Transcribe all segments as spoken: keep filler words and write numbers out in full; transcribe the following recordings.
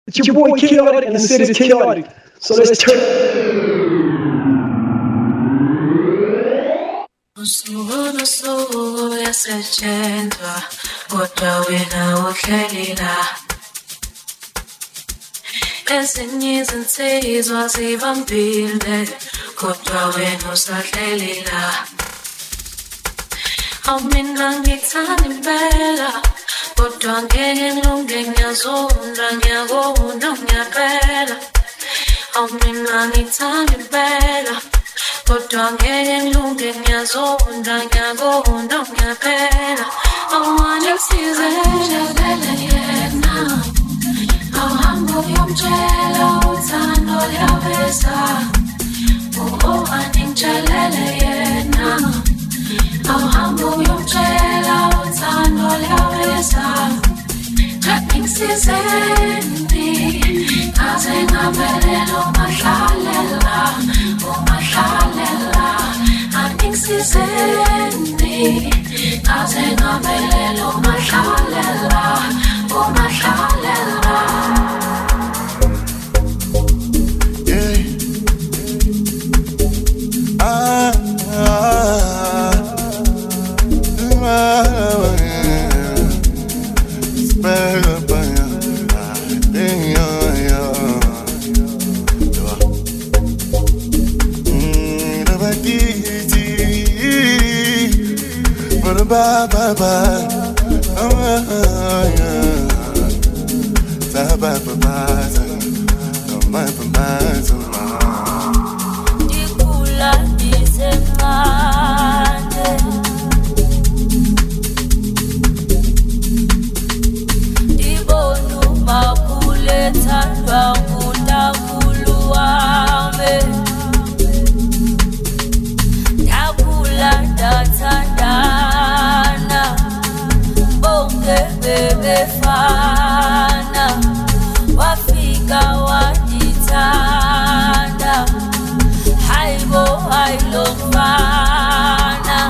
It's your boy Chaotic, and the city's chaotic. So let's turn. Usuku nosuku yasetshenzwa kodwa wena uhleli la. Ezinye izinsizwa zivambile kodwa wena usahleli la. Awu mina ngithanda impela kodwa ngeke ngilunge ngiyazonda ngiyakona ngiyaqela. Awu mina ngithanda impela kodwa ngeke ngilunge ngiyazonda ngiyakona ngiyaqela. Awuhamba usizele yena, awuhamba uyomtshela uthando liyaveza. Oh, angitshelele yena, awuhamba uyomtshela uthando liyaveza. Ngisizeni kaze ngaphelele umahlalela umahlalela. Angisizeni kaze ngaphelele umahlalela umahlalela. Yeah. Ah, ah, ah, Bye bye bye, oh yeah, bye bye bye bye, oh my bye bye, oh my. Dikula disemane, dibonu makule tandwa mutakulu wame, dakula datanda. Befana wafika wajitanda haibo hailofana.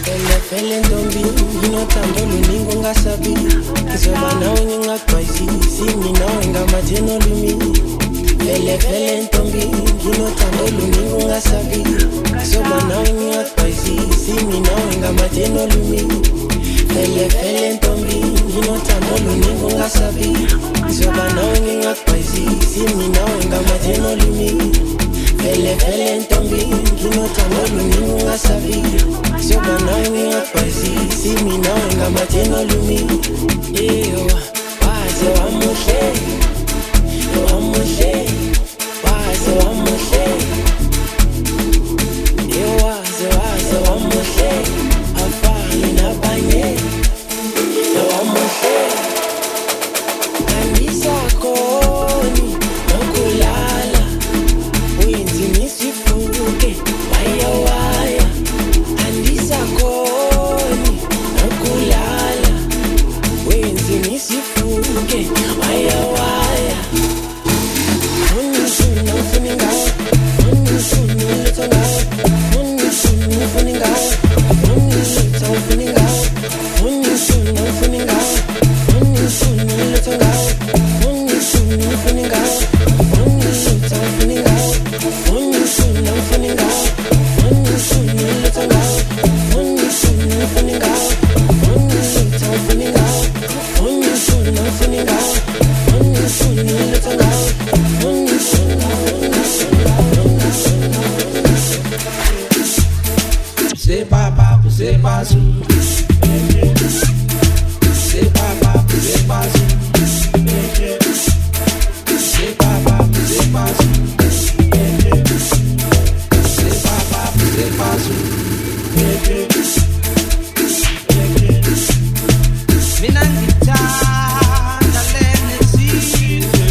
Fele fele ntombi inothando luningi ungasabi Ngizoba nawe ngingagqwazisi mina wengamathe olumi Fele fele ntombi inothando luningi ungasabi Ngizoba nawe ngingagqwazisi mina wengamathe olumi Fele fele ntombi inothando luningi ungasabi Ngizoba nawe ngingagqwazisi mina wengamathe olumi Fele fele ntombi nginothando luningi ungasabi Ngizoba nawe ngingagqwazisi mina wengamathe olumi Eyo waze wamuhle wamuhle waze wamuhle Eyo waze waze wamuhle afani nabanye wamuhle Andisakhoni nokulala Uyinzimis'ifuke waya waya Andisakhoni nokulala Uyinzimis'ifuke waya waya Unishuna ufuni ngawe Unishuna uletha ngawe Unishuna ufuni ngawe Unishuna ufuni ngawe Unishuna ufuni ngawe Unishuna uletha ngawe Unishuna ufuni ngawe Unishuna ufuni ngawe Unishuna ufuni ngawe Unishuna uletha ngawe Unishuna ufuni ngawe Unishuna ufuni ngawe Unishuna ufuni ngawe Unishuna uletha ngawe Say baba, say bazu. Say baba, say bazu. Say baba, say bazu. Say baba, say bazu. Mina ngithanda lena sizwe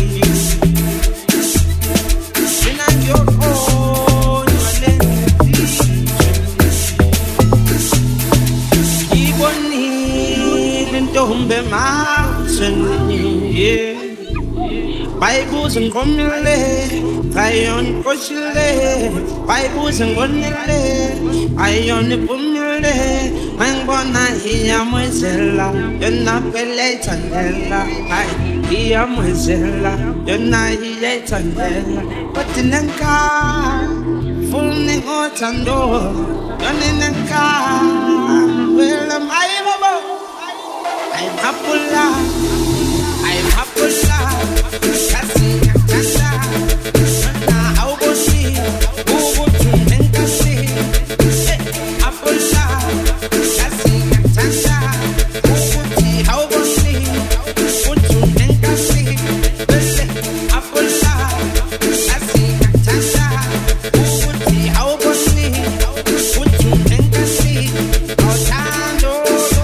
Mina ngiyokhonya lena sizwe Ngibonile intombi ematheni Bayibuza ngomile ayona koshile Bayibuza ngonile ayona ipumile Ngibona iyamwezela yona phela ithandela Hayi iyamwezela yona iyayithandela Kodwa nenkani funi ngothando yona nenkani Well I'm high baba I'm happula I'm happula Kasi yakanda Na awubosi Ubutu nenkasi Happula Kasi yakanda Ubuti awubosi Ubutu nenkasi Happula Kasi yakanda Ubuti awubosi Ubutu nenkasi Awuthando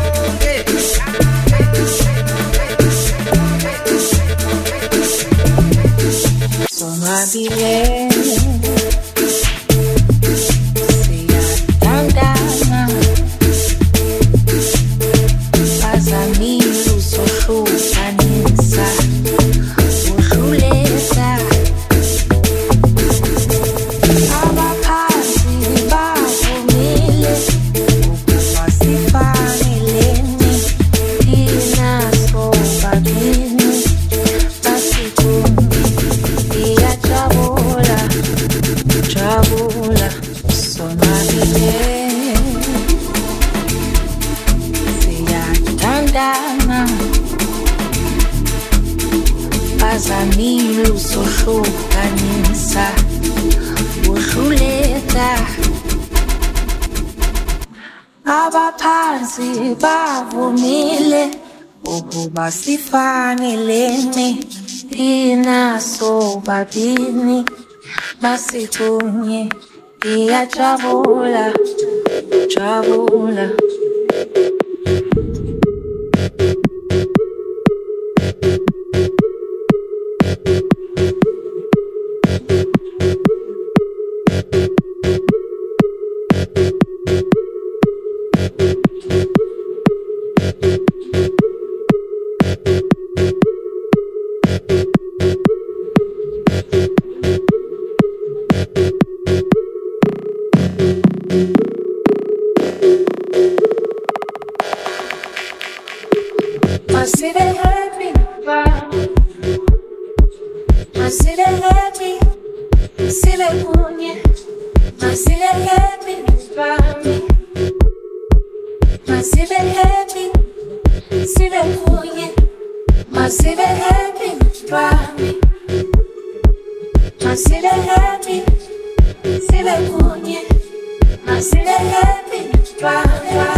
Somabile Siyathandana Phazamile uzohlukanisa Uhluleka Abaphansi bavumile Ukuba sifanelene Thina sobabili Basithumbe Iyajabula Jabula Sonwabile Siyathandana Phazamile uzohlukanisa Uhluleka Abaphansi bavumile Ukuba sifanelene Thina sobabili Basithumbe Iyajabula Jabula Thank you. Masibe happy, Masibe happy, Masibe kunye, Masibe happy, Masibe happy, Masibe kunye, Masibe happy, Masibe happy, Masibe kunye, Masibe happy,